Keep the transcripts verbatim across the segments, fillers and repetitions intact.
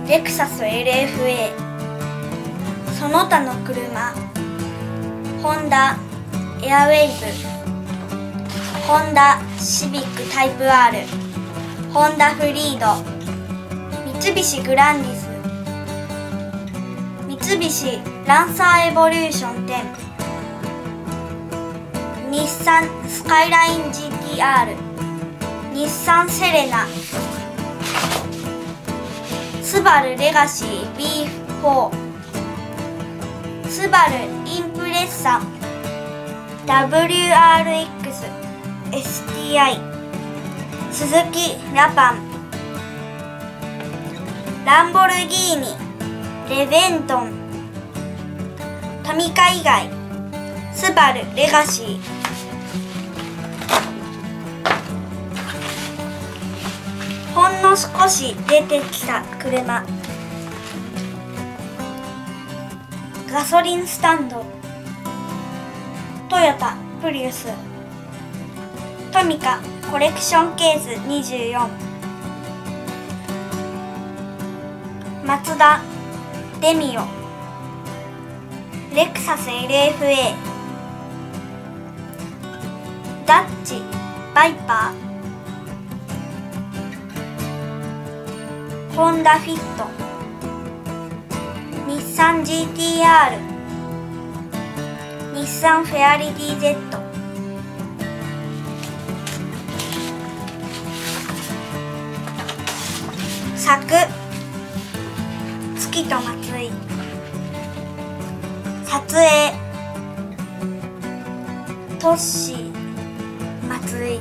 レクサス エルエフエー、 その他の車、ホンダエアウェイブ、ホンダシビックタイプ アール、 ホンダフリード、三菱グランディス、三菱ランサーエボリューションテン、日産スカイライン ジーティーアール、 日産セレナ、スバルレガシー ビーフォー、 スバルインプレッサ ダブリューアールエックス エスティーアイ、 スズキラパン、ランボルギーニレベントン、トミカ以外スバルレガシー、ほんの少し出てきた車、ガソリンスタンド、トヨタプリウス、トミカコレクションケースにじゅうよん、マツダデミオ、レクサス エルエフエー、 ダッチバイパー、ホンダフィット、日産 ジーティーアール、日産フェアリティ ゼット、サク月と松井、撮影トッシー松井、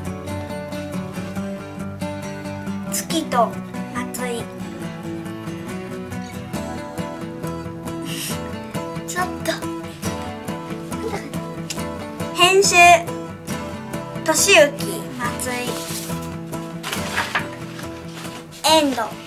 月と松井ちょっと編集としゆき松井、エンド